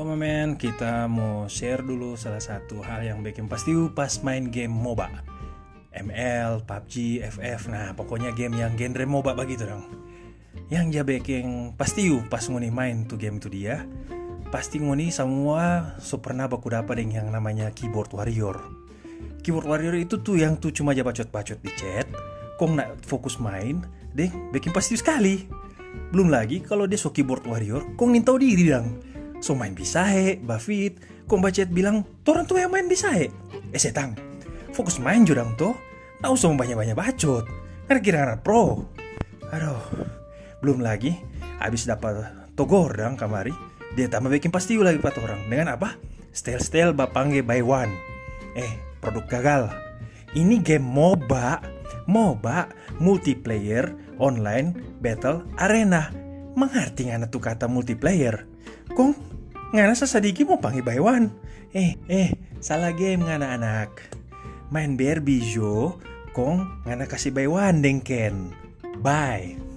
men, kita mau share dulu salah satu hal yang bikin pasti pas main game MOBA. ML, PUBG, FF, nah pokoknya game yang genre MOBA begitu dong. Yang dia bikin pasti pas nguni main tuh game itu dia. Pasti nguni semua pernah baku dapat yang namanya keyboard warrior. Keyboard warrior itu tuh yang tuh cuma aja bacot-bacot di chat. Kong nak fokus main, deh bikin pasti sekali. Belum lagi kalau dia so keyboard warrior, kong nintau diri dong. So main bisa Bafit, kong bacet bilang, orang tuh yang main bisa setang, fokus main jurang tuh, tak usah banyak-banyak bacot, karena kira-kira pro. Aduh, belum lagi, habis dapat togor dong kamari, dia tambah bikin pasti lagi 4 orang, dengan apa? Style-style bapangge by one. Produk gagal. Ini game MOBA, multiplayer, online, battle, arena. Mengerti ngana tuh kata multiplayer? Kong, ngana sasadiki mau panggil by one. Salah game ngana anak. Main BRB jo, kong ngana kasih by one dengken. Bye.